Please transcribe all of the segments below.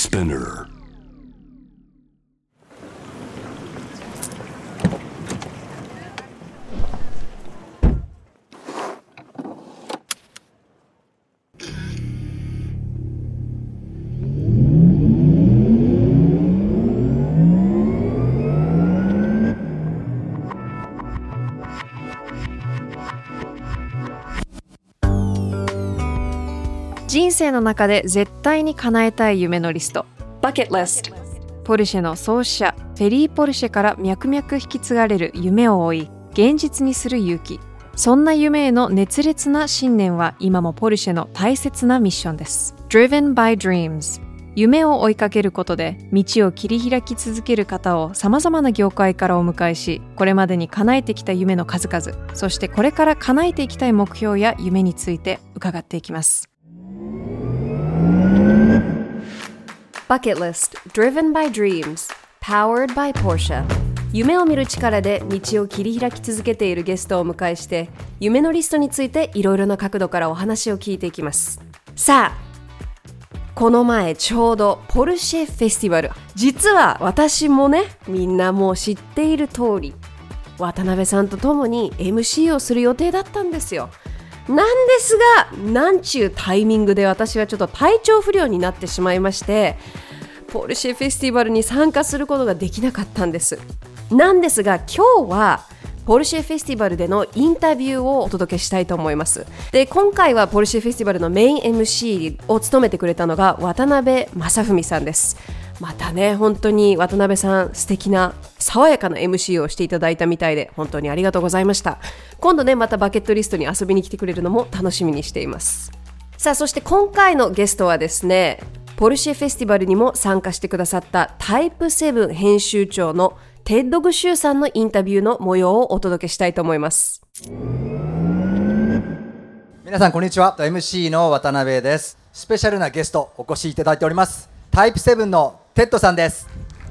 Spinner. 人生の中で絶対に叶えたい夢のリスト Bucket List。 ポルシェの創始者フェリー・ポルシェから脈々引き継がれる夢を追い現実にする勇気。そんな夢への熱烈な信念は今もポルシェの大切なミッションです。 Driven by Dreams。 夢を追いかけることで道を切り開き続ける方をさまざまな業界からお迎えし、これまでに叶えてきた夢の数々、そしてこれから叶えていきたい目標や夢について伺っていきます。Bucket List Driven by Dreams Powered by Porsche。 夢を見る力で道を切り開き続けているゲストをお迎えして、夢のリストについていろいろな角度からお話を聞いていきます。さあ、この前ちょうどポルシェフェスティバル、実は私もね、みんなもう知っている通り渡辺さんと共に MC をする予定だったんですよ。なんですが、なんちゅうタイミングで私はちょっと体調不良になってしまいまして、ポルシェフェスティバルに参加することができなかったんです。なんですが、今日はポルシェフェスティバルでのインタビューをお届けしたいと思います。で、今回はポルシェフェスティバルのメイン MC を務めてくれたのが渡辺正文さんです。またね、本当に渡辺さん素敵な爽やかな MC をしていただいたみたいで、本当にありがとうございました。今度ね、またバケットリストに遊びに来てくれるのも楽しみにしています。さあ、そして今回のゲストはですね、ポルシェフェスティバルにも参加してくださったタイプ7編集長のテッド・グシューさんのインタビューの模様をお届けしたいと思います。 皆さんこんにちは、 MC の渡辺です。スペシャルなゲストお越しいただいております。タイプ7のテッドさんです。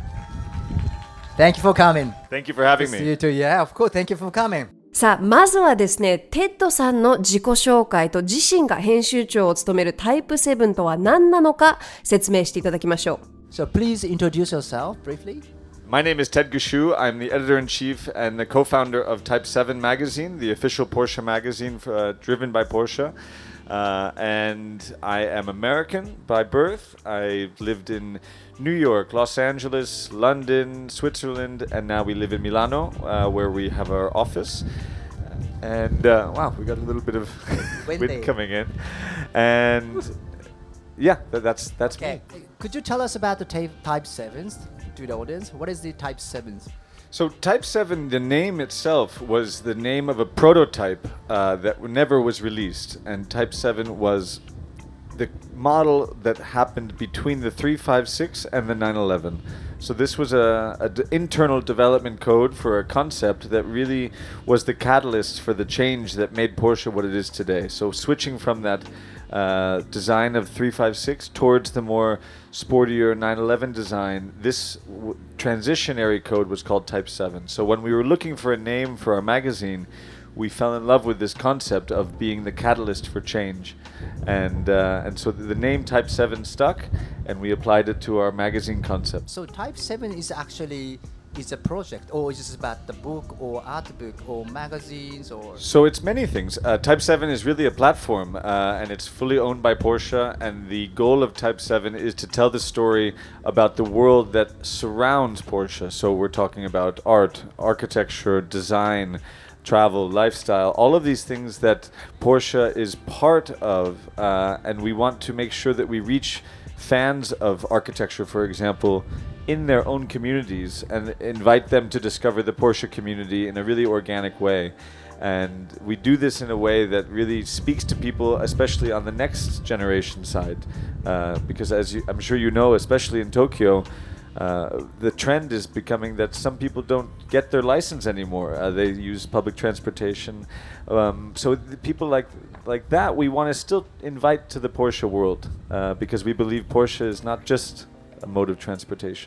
Thank you for coming. Thank you for having See me. you too. Yeah, of course. Thank you for coming. さあ、まずはですね、テッドさんの自己紹介と自身が編集長を務めるタイプ7とは何なのか説明していただきましょう。 So please introduce yourself briefly. My name is Ted Gushue. I'm the editor-in-chief and the co-founder of Type 7 magazine, the official Porsche magazine driven by Porsche. And I am American by birth. I lived in New York, Los Angeles, London, Switzerland, and now we live in Milano, where we have our office. And wow, we got a little bit of wind coming in. And yeah, that's Okay. me. Could you tell us about the Type 7s to the audience? What is the Type 7s? So Type 7, the name itself was the name of a prototype that never was released. And Type 7 was the model that happened between the 356 and the 911. So this was an internal development code for a concept that really was the catalyst for the change that made Porsche what it is today. So switching from that design of 356 towards the more sportier 911 design, this transitionary code was called Type 7. So when we were looking for a name for our magazine, we fell in love with this concept of being the catalyst for change. And so the name Type 7 stuck, and we applied it to our magazine concept. So Type 7 is actually a project, or is it about the book or art book or magazines or? So it's many things. Type 7 is really a platform, and it's fully owned by Porsche. And the goal of Type 7 is to tell the story about the world that surrounds Porsche. So we're talking about art, architecture, design, travel, lifestyle, all of these things that Porsche is part of. And we want to make sure that we reach fans of architecture, for example, in their own communities, and invite them to discover the Porsche community in a really organic way. And we do this in a way that really speaks to people, especially on the next generation side. Because as I'm sure you know, especially in Tokyo, the trend is becoming that some people don't get their license anymore. They use public transportation. So the people like that, we want to still invite to the Porsche world, because we believe Porsche is not just a mode of transportation.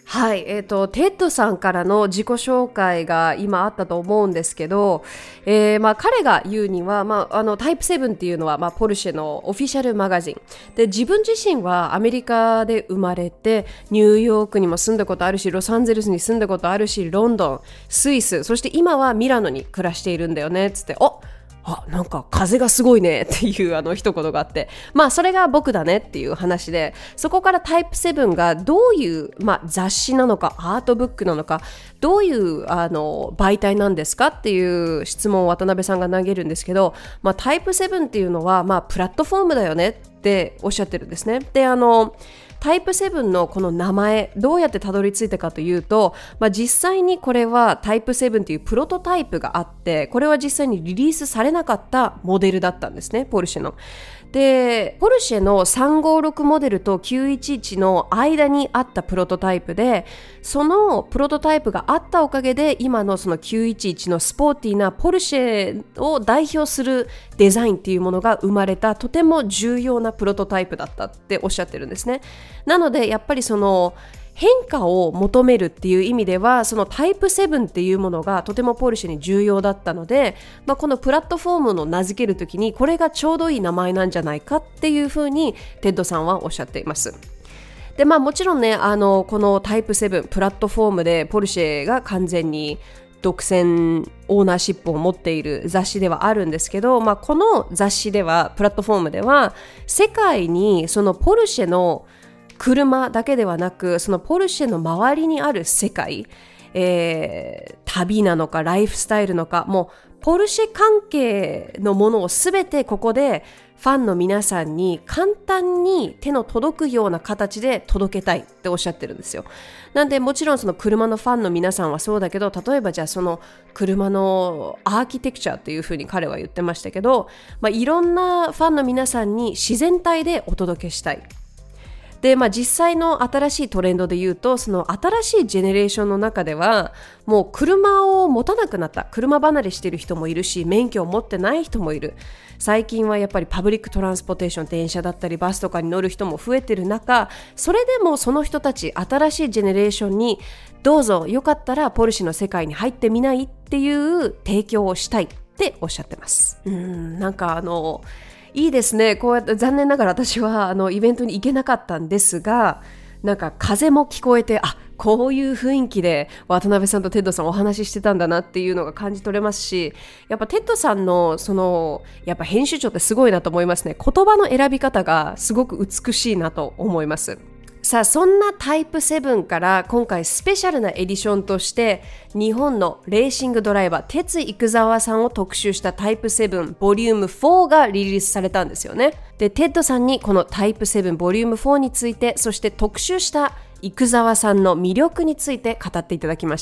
はい、テッドさんからの自己紹介が今あったと思うんですけど、彼が言うには、タイプ7っていうのは、ポルシェのオフィシャルマガジンで、自分自身はアメリカで生まれてニューヨークにも住んだことあるし、ロサンゼルスに住んだことあるし、ロンドン、スイス、そして今はミラノに暮らしているんだよねっつって、なんか風がすごいねっていう一言があって、それが僕だねっていう話で、そこからタイプ7がどういう、雑誌なのかアートブックなのか、どういう媒体なんですかっていう質問を渡辺さんが投げるんですけど、タイプ7っていうのは、プラットフォームだよねっておっしゃってるんですね。で、タイプ7のこの名前どうやってたどり着いたかというと、実際にこれはタイプ7というプロトタイプがあって、これは実際にリリースされなかったモデルだったんですね、ポルシェの。で、ポルシェの356モデルと911の間にあったプロトタイプで、そのプロトタイプがあったおかげで今のその911のスポーティーなポルシェを代表するデザインっていうものが生まれた、とても重要なプロトタイプだったっておっしゃってるんですね。なのでやっぱりその変化を求めるっていう意味では、そのタイプ7っていうものがとてもポルシェに重要だったので、このプラットフォームの名付けるときにこれがちょうどいい名前なんじゃないかっていうふうにテッドさんはおっしゃっています。で、もちろんね、このタイプ7プラットフォームでポルシェが完全に独占オーナーシップを持っている雑誌ではあるんですけど、この雑誌ではプラットフォームでは世界にそのポルシェの車だけではなく、そのポルシェの周りにある世界、旅なのかライフスタイルのか、もうポルシェ関係のものをすべてここでファンの皆さんに簡単に手の届くような形で届けたいっておっしゃってるんですよ。なんでもちろんその車のファンの皆さんはそうだけど、例えばじゃあその車のアーキテクチャっていうふうに彼は言ってましたけど、いろんなファンの皆さんに自然体でお届けしたい。で、実際の新しいトレンドで言うと、その新しいジェネレーションの中ではもう車を持たなくなった、車離れしている人もいるし、免許を持ってない人もいる。最近はやっぱりパブリックトランスポーテーション、電車だったりバスとかに乗る人も増えてる中、それでもその人たち、新しいジェネレーションにどうぞよかったらポルシェの世界に入ってみないっていう提供をしたいっておっしゃってます。なんかいいですね。こうやって残念ながら私はイベントに行けなかったんですが、なんか風も聞こえて、こういう雰囲気で渡辺さんとテッドさんお話ししてたんだなっていうのが感じ取れますし、やっぱテッドさんのやっぱ編集長ってすごいなと思いますね。言葉の選び方がすごく美しいなと思います。さあ、そんなタイプ7から今回スペシャルなエディションとして日本のレーシングドライバー鉄生沢さんを特集したタイプ7ボリューム4がリリースされたんですよね。で、テッドさんにこのタイプ7ボリューム4について、そして特集した生沢さんの魅力について語っていただきました。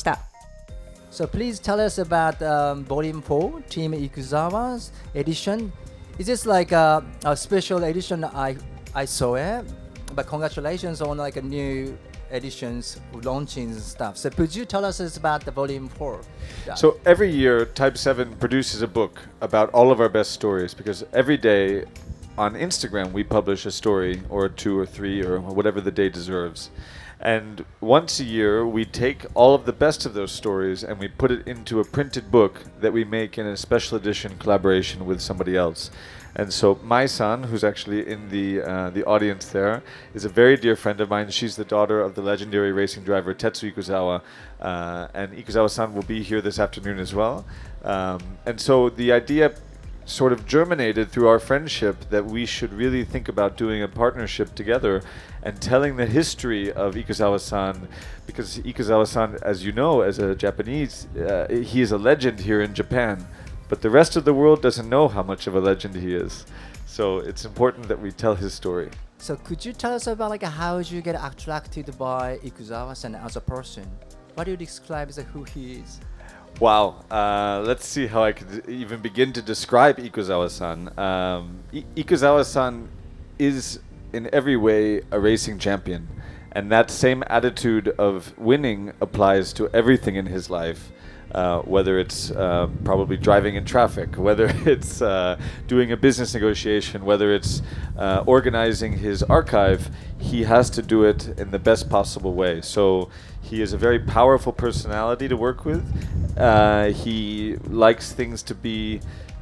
So please tell us about Volume 4, Team Ikuzawa's edition. Is this like a special edition? I saw it, but congratulations on like a new editions, launching and stuff. So could you tell us about the Volume 4? Yeah. So every year, Type 7 produces a book about all of our best stories, because every day on Instagram we publish a story or 2 or 3 or whatever the day deserves. And once a year, we take all of the best of those stories and we put it into a printed book that we make in a special edition collaboration with somebody else. And so my son, who's actually in the audience there, is a very dear friend of mine. She's the daughter of the legendary racing driver Tetsu Ikuzawa. And Ikuzawa-san will be here this afternoon as well. And so the idea sort of germinated through our friendship that we should really think about doing a partnership together and telling the history of Ikuzawa-san, because Ikuzawa-san, as you know, as a Japanese, he is a legend here in Japan, but the rest of the world doesn't know how much of a legend he is. So it's important that we tell his story. So could you tell us about like how you get attracted by Ikuzawa-san as a person? What do you describe as who he is? Wow, let's see how I could even begin to describe Ikuzawa-san. Ikuzawa-san is in every way a racing champion, and that same attitude of winning applies to everything in his life. whether it's probably driving in traffic, whether it's doing a business negotiation, whether it's organizing his archive, he has to do it in the best possible way. So he is a very powerful personality to work with. He likes things to be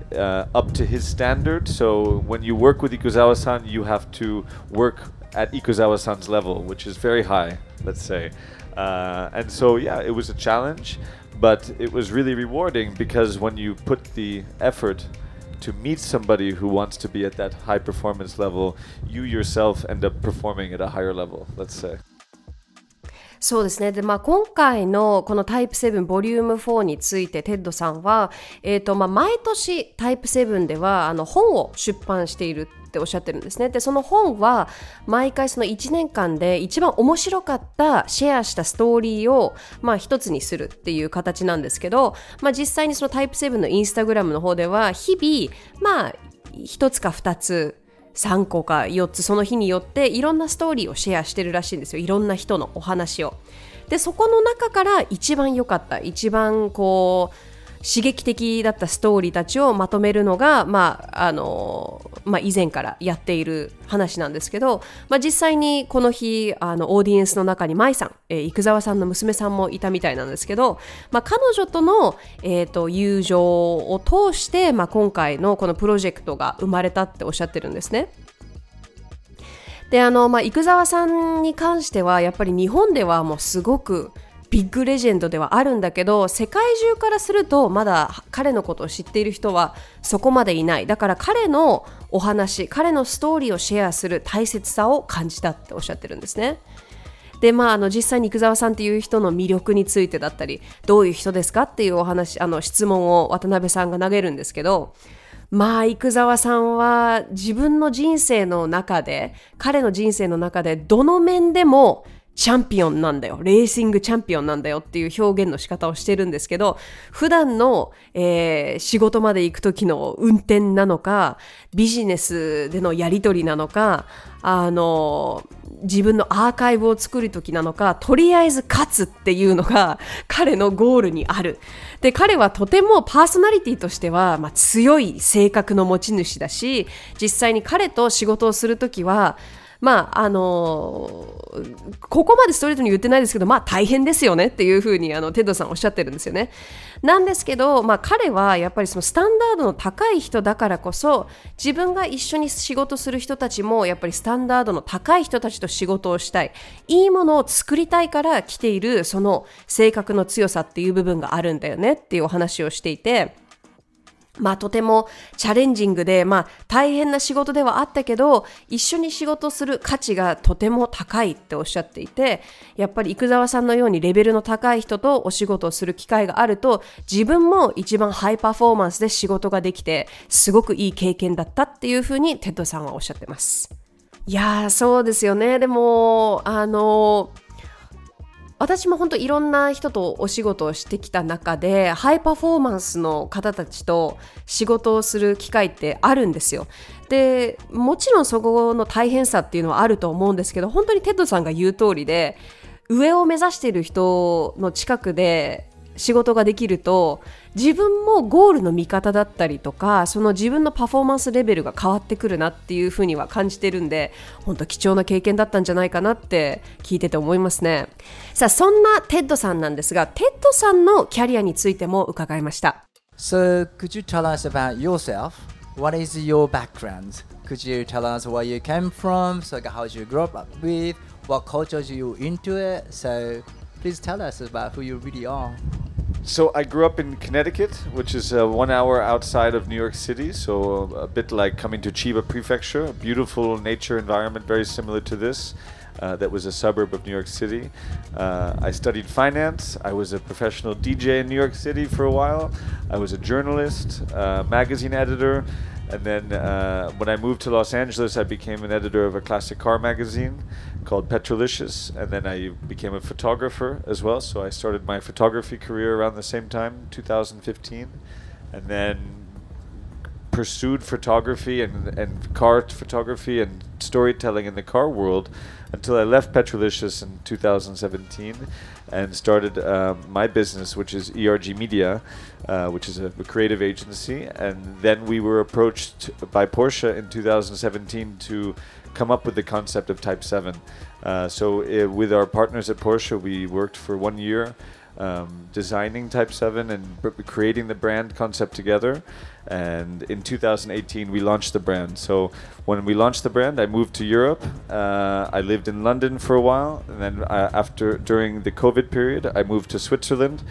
up to his standard. So when you work with Ikuzawa-san, you have to work at Ikuzawa-san's level, which is very high, let's say. And so, yeah, it was a challenge, but it was really rewarding because when you put the effort to meet somebody who wants to be at that high performance level, you yourself end up performing at a higher level, let's say. そうですね。で、今回のこのタイプ7ボリューム4についてテッドさんは、毎年タイプ7では本を出版しているっておっしゃってるんですね。で、その本は毎回その1年間で一番面白かったシェアしたストーリーを一つにするっていう形なんですけど、実際にそのタイプ7のインスタグラムの方では日々1つか2つ3個か4つその日によっていろんなストーリーをシェアしてるらしいんですよ。いろんな人のお話を。で、そこの中から一番良かった、一番刺激的だったストーリーたちをまとめるのが、以前からやっている話なんですけど、実際にこの日オーディエンスの中に舞さん、生沢さんの娘さんもいたみたいなんですけど、彼女との、友情を通して、今回のこのプロジェクトが生まれたっておっしゃってるんですね。で、生沢さんに関してはやっぱり日本ではもうすごくビッグレジェンドではあるんだけど、世界中からするとまだ彼のことを知っている人はそこまでいない。だから彼のお話、彼のストーリーをシェアする大切さを感じたっておっしゃってるんですね。で、実際に生沢さんっていう人の魅力についてだったり、どういう人ですかっていうお話、質問を渡辺さんが投げるんですけど、生沢さんは自分の人生の中で、彼の人生の中でどの面でもチャンピオンなんだよ、レーシングチャンピオンなんだよっていう表現の仕方をしてるんですけど、普段の、仕事まで行く時の運転なのか、ビジネスでのやり取りなのか、自分のアーカイブを作る時なのか、とりあえず勝つっていうのが彼のゴールにある。で、彼はとてもパーソナリティとしては、強い性格の持ち主だし、実際に彼と仕事をするときはここまでストレートに言ってないですけど、大変ですよねっていうふうにテッドさんおっしゃってるんですよね。なんですけど、彼はやっぱりそのスタンダードの高い人だからこそ、自分が一緒に仕事する人たちもやっぱりスタンダードの高い人たちと仕事をしたい、いいものを作りたいから来ている、その性格の強さっていう部分があるんだよねっていうお話をしていて、とてもチャレンジングで、大変な仕事ではあったけど、一緒に仕事する価値がとても高いっておっしゃっていて、やっぱり生沢さんのようにレベルの高い人とお仕事をする機会があると、自分も一番ハイパフォーマンスで仕事ができて、すごくいい経験だったっていうふうにテッドさんはおっしゃってます。いやー、そうですよね。でも私も本当いろんな人とお仕事をしてきた中で、ハイパフォーマンスの方たちと仕事をする機会ってあるんですよ。で、もちろんそこの大変さっていうのはあると思うんですけど、本当にテッドさんが言う通りで、上を目指している人の近くで仕事ができると、自分もゴールの見方だったりとか、その自分のパフォーマンスレベルが変わってくるなっていうふうには感じてるんで、本当貴重な経験だったんじゃないかなって聞いてて思いますね。さあ、そんなテッドさんなんですが、テッドさんのキャリアについても伺いました。 So, could you tell us about yourself? What is your background? Could you tell us where you came from? So, how did you grow up with? What culture are you into it? So, please tell us about who you really are.So I grew up in Connecticut, which is 1 hour outside of New York City, so a bit like coming to Chiba Prefecture, a beautiful nature environment very similar to this, that was a suburb of New York City. I studied finance. I was a professional DJ in New York City for a while. I was a journalist, magazine editor, and then when I moved to Los Angeles, I became an editor of a classic car magazine called Petrolicious, and then I became a photographer as well. So I started my photography career around the same time, 2015, and then pursued photography and car photography and storytelling in the car world until I left Petrolicious in 2017 and started my business, which is ERG Media, which is a creative agency. And then we were approached by Porsche in 2017 to come up with the concept of Type 7. So with our partners at Porsche, we worked for 1 year designing Type 7 and creating the brand concept together. And in 2018 we launched the brand. So when we launched the brand, I moved to Europe. I lived in London for a while, and then during the COVID period I moved to Switzerland.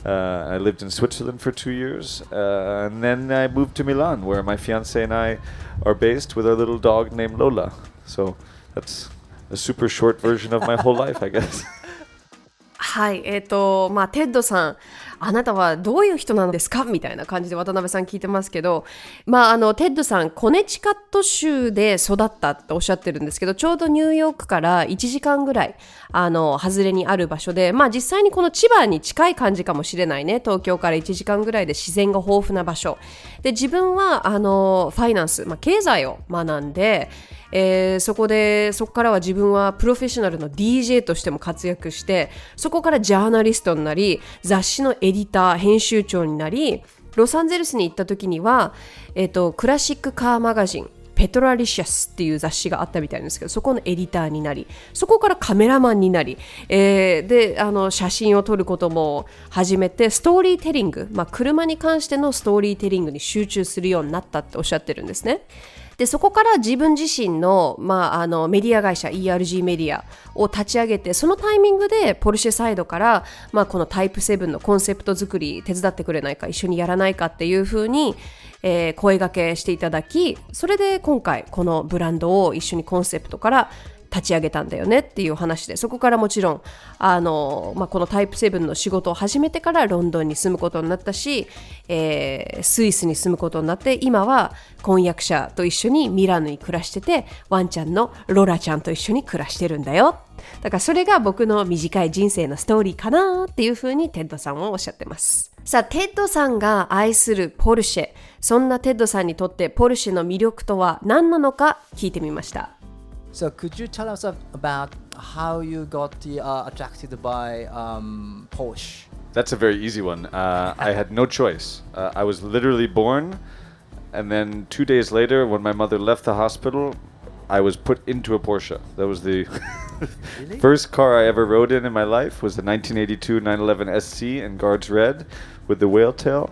I lived in Switzerland for 2 years, and then I moved to Milan, where my fiance and I are based with our little dog named Lola. So that's a super short version of my whole life, I guess. はい、テッドさん、あなたはどういう人なんですかみたいな感じで渡辺さん聞いてますけど、テッドさん、コネチカット州で育ったっておっしゃってるんですけど、ちょうどニューヨークから1時間ぐらい、外れにある場所で、実際にこの千葉に近い感じかもしれないね。東京から1時間ぐらいで自然が豊富な場所。で、自分は、ファイナンス、経済を学んで、そこからは自分はプロフェッショナルの DJ としても活躍して、そこからジャーナリストになり、雑誌のエディター、編集長になり、ロサンゼルスに行った時には、クラシックカーマガジン、ペトラリシャスっていう雑誌があったみたいなんですけど、そこのエディターになり、そこからカメラマンになり、で写真を撮ることも始めて、ストーリーテリング、車に関してのストーリーテリングに集中するようになったっておっしゃってるんですね。でそこから自分自身の、メディア会社 ERG メディアを立ち上げて、そのタイミングでポルシェサイドから、このタイプ7のコンセプト作り手伝ってくれないか、一緒にやらないかっていう風に、声掛けしていただき、それで今回このブランドを一緒にコンセプトから立ち上げたんだよねっていう話で、そこからもちろんこのタイプ7の仕事を始めてからロンドンに住むことになったし、スイスに住むことになって、今は婚約者と一緒にミラノに暮らしてて、ワンちゃんのロラちゃんと一緒に暮らしてるんだよ。だからそれが僕の短い人生のストーリーかなっていうふうにテッドさんはおっしゃってます。さあ、テッドさんが愛するポルシェ、そんなテッドさんにとってポルシェの魅力とは何なのか聞いてみました。 So could you tell us about how you got attracted by Porsche? That's a very easy one. I had no choice. I was literally born, and then 2 days later, when my mother left the hospital, I was put into a Porsche. That was the really? First car I ever rode in my life was the 1982 911 SC in Guards Red with the whale tail.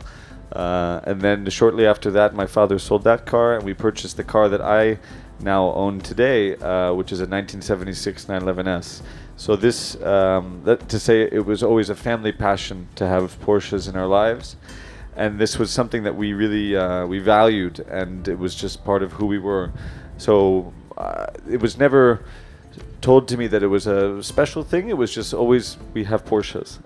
And then shortly after that, my father sold that car, and we purchased the car that I now own today, which is a 1976 911S. So this, to say it was always a family passion to have Porsches in our lives, and this was something that we really we valued, and it was just part of who we were. So it was never told to me that it was a special thing. It was just always we have Porsches,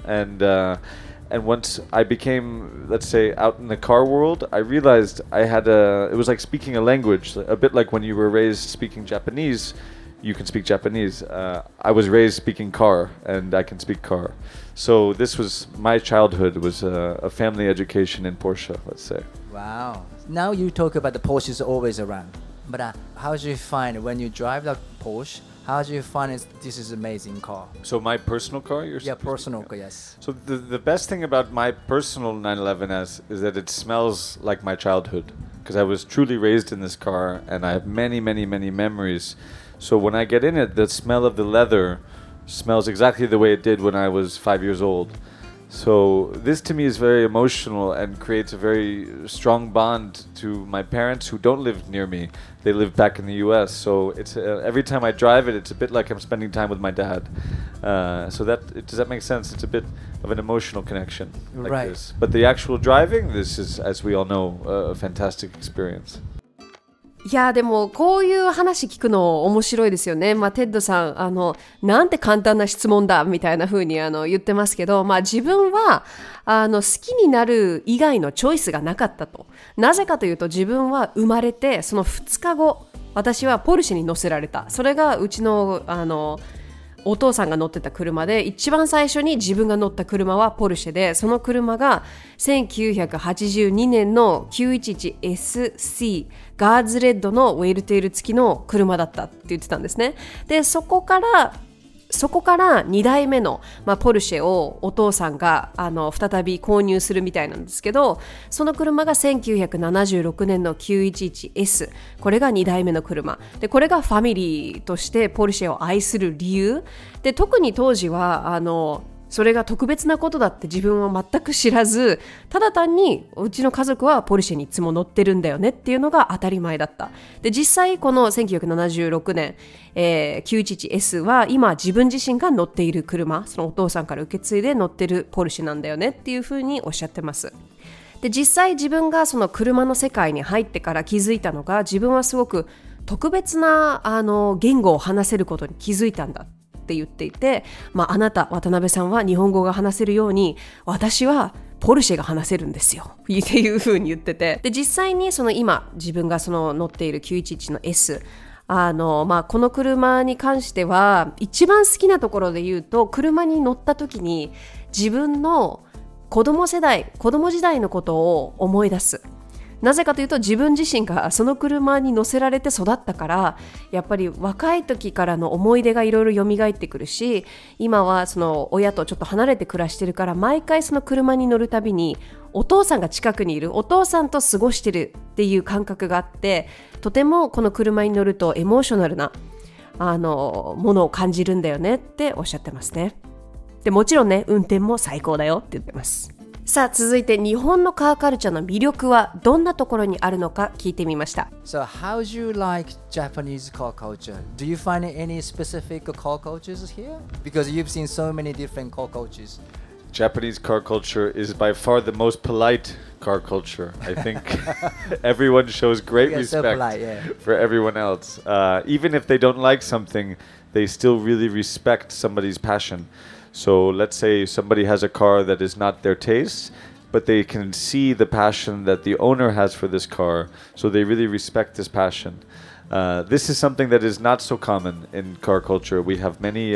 and once I became, let's say, out in the car world, I realized it was like speaking a language, a bit like when you were raised speaking Japanese, you can speak Japanese. I was raised speaking car, and I can speak car. So this was my childhood, was a family education in Porsche, let's say. Wow. Now you talk about the Porsches always around. But how do you find when you drive the Porsche? How do you find this is an amazing car? So my personal car? Personal car, yes. So the best thing about my personal 911S is that it smells like my childhood, because I was truly raised in this car, and I have many, many, many memories. So when I get in it, the smell of the leather smells exactly the way it did when I was 5 years old. So this to me is very emotional and creates a very strong bond to my parents who don't live near me. They live back in the US. So it's every time I drive it, it's a bit like I'm spending time with my dad. Does that make sense? It's a bit of an emotional connection like right. this. But the actual driving, this is, as we all know, a fantastic experience. いやでもこういう話聞くの面白いですよね。テッドさんなんて簡単な質問だみたいな風に言ってますけど、自分は好きになる以外のチョイスがなかったと。なぜかというと、自分は生まれてその2日後、私はポルシェに乗せられた。それがうちのお父さんが乗ってた車で、一番最初に自分が乗った車はポルシェで、その車が1982年の 911SC ガーズレッドのウェイルテール付きの車だったって言ってたんですね。で、そこから2代目の、ポルシェをお父さんが再び購入するみたいなんですけど、その車が1976年の 911S、 これが2代目の車で、これがファミリーとしてポルシェを愛する理由で、特に当時はそれが特別なことだって自分は全く知らず、ただ単にうちの家族はポルシェにいつも乗ってるんだよねっていうのが当たり前だった。で、実際この1976年、911S は今自分自身が乗っている車、そのお父さんから受け継いで乗ってるポルシェなんだよねっていうふうにおっしゃってます。で、実際自分がその車の世界に入ってから気づいたのが、自分はすごく特別な言語を話せることに気づいたんだって言っていて、あなた渡辺さんは日本語が話せるように、私はポルシェが話せるんですよっていう風に言ってて、で、実際にその今自分がその乗っている911の S、この車に関しては一番好きなところで言うと、車に乗った時に自分の子供時代のことを思い出す。なぜかというと、自分自身がその車に乗せられて育ったから、やっぱり若い時からの思い出がいろいろ蘇ってくるし、今はその親とちょっと離れて暮らしてるから、毎回その車に乗るたびにお父さんが近くにいる、お父さんと過ごしてるっていう感覚があって、とてもこの車に乗るとエモーショナルなものを感じるんだよねっておっしゃってますね。で、もちろんね、運転も最高だよって言ってます。さあ、続いて日本のカーカルチャーの魅力はどんなところにあるのか聞いてみました。 So how do you like Japanese car culture? Do you find any specific car cultures here? Because you've seen so many different car cultures. Japanese car culture is by far the most polite car culture. I think everyone shows great respect for everyone else. Even if they don't like something, they still really respect somebody's passion.So let's say somebody has a car that is not their taste, but they can see the passion that the owner has for this car, so they really respect this passion. This is something that is not so common in car culture. We have many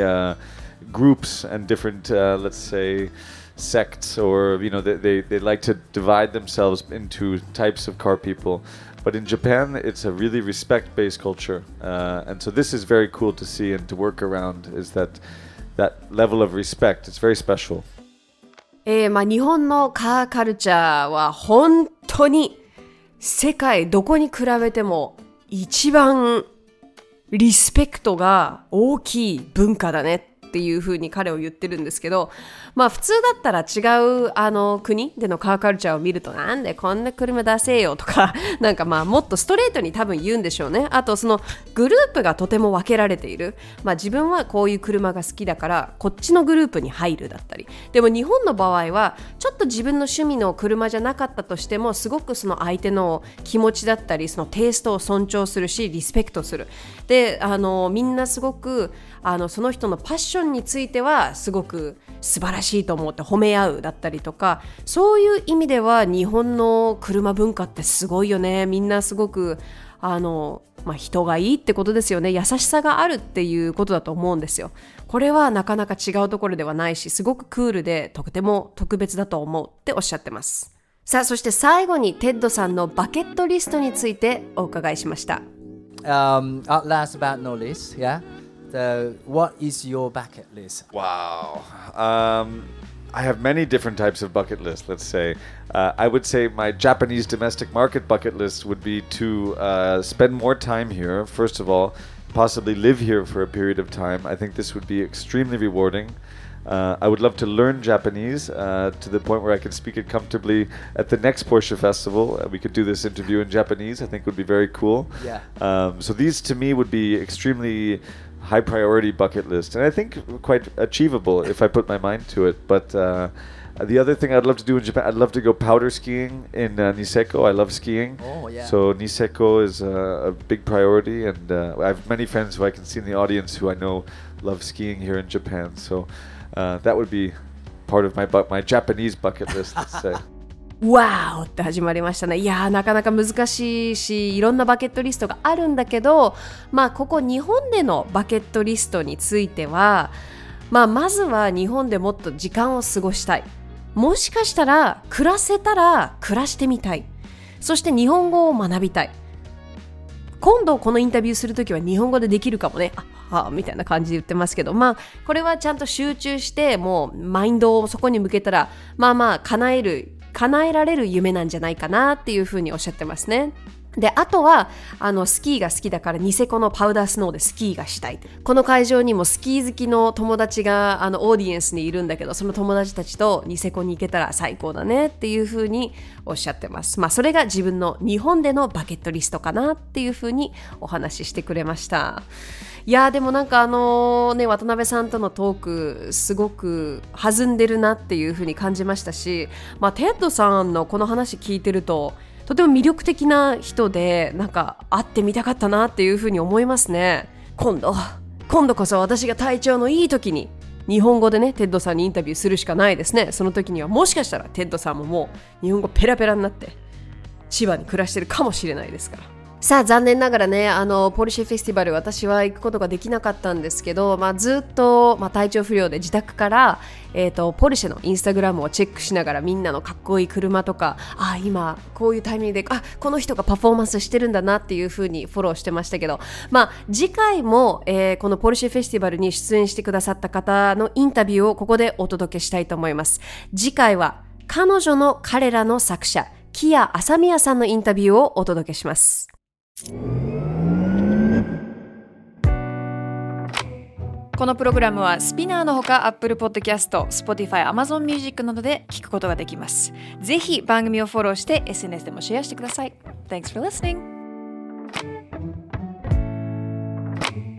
groups and different, let's say, sects, or they like to divide themselves into types of car people. But in Japan, it's a really respect-based culture, and so this is very cool to see and to work around. Is that level of respect, it's very special. 日本のカーカルチャーは本当に世界どこに比べても一番リスペクトが大きい文化だねっていう風に彼を言ってるんですけど、普通だったら違う国でのカーカルチャーを見ると、なんでこんな車出せよとか、もっとストレートに多分言うんでしょうね。あとそのグループがとても分けられている。自分はこういう車が好きだからこっちのグループに入るだったり。でも日本の場合はちょっと自分の趣味の車じゃなかったとしても、すごくその相手の気持ちだったり、そのテイストを尊重するし、リスペクトする。で、みんなすごくその人のパッションについてはすごく素晴らしいと思って褒め合うだったりとか、そういう意味では日本の車文化ってすごいよね。みんなすごく人がいいってことですよね。優しさがあるっていうことだと思うんですよ。これはなかなか違うところではないし、すごくクールでとても特別だと思うっておっしゃってます。さあ、そして最後にテッドさんのバケットリストについてお伺いしました。 Last but not least, yeah.So, what is your bucket list? Wow. I have many different types of bucket lists, let's say. I would say my Japanese domestic market bucket list would be to spend more time here, first of all, possibly live here for a period of time. I think this would be extremely rewarding. I would love to learn Japanese to the point where I could speak it comfortably at the next Porsche Festival. We could do this interview in Japanese. I think would be very cool. Yeah. So these to me would be extremely high priority bucket list, and I think quite achievable if I put my mind to it. But the other thing I'd love to do in Japan, I'd love to go powder skiing in Niseko. I love skiing. Oh, yeah. So Niseko is a big priority, and I have many friends who I can see in the audience who I know love skiing here in Japan. So that would be part of my Japanese bucket list, let's say. わーって始まりましたね。いやーなかなか難しいし、いろんなバケットリストがあるんだけど、まあここ日本でのバケットリストについては、まずは日本でもっと時間を過ごしたい。もしかしたら暮らせたら暮らしてみたい。そして日本語を学びたい。今度このインタビューするときは日本語でできるかもね。みたいな感じで言ってますけど、これはちゃんと集中してもうマインドをそこに向けたら叶えられる夢なんじゃないかなっていうふうにおっしゃってますね。で、あとはスキーが好きだからニセコのパウダースノーでスキーがしたい。この会場にもスキー好きの友達がオーディエンスにいるんだけど、その友達たちとニセコに行けたら最高だねっていうふうにおっしゃってます。それが自分の日本でのバケットリストかなっていうふうにお話ししてくれました。いやでもなんか渡辺さんとのトークすごく弾んでるなっていうふうに感じましたし、テッドさんのこの話聞いてるととても魅力的な人で、なんか会ってみたかったなっていうふうに思いますね。今度こそ私が体調のいい時に日本語でねテッドさんにインタビューするしかないですね。その時にはもしかしたらテッドさんももう日本語ペラペラになって千葉に暮らしてるかもしれないですから。さあ残念ながらねポルシェフェスティバル私は行くことができなかったんですけど、ずっと、体調不良で自宅から、ポルシェのインスタグラムをチェックしながらみんなのかっこいい車とか今こういうタイミングでこの人がパフォーマンスしてるんだなっていう風にフォローしてましたけど、次回も、このポルシェフェスティバルに出演してくださった方のインタビューをここでお届けしたいと思います。次回は彼らの作者木谷麻宮さんのインタビューをお届けします。このプログラムはスピナーのほか Apple Podcast、Spotify、Amazon Music などで聞くことができます。ぜひ番組をフォローして SNS でもシェアしてください。Thanks for listening!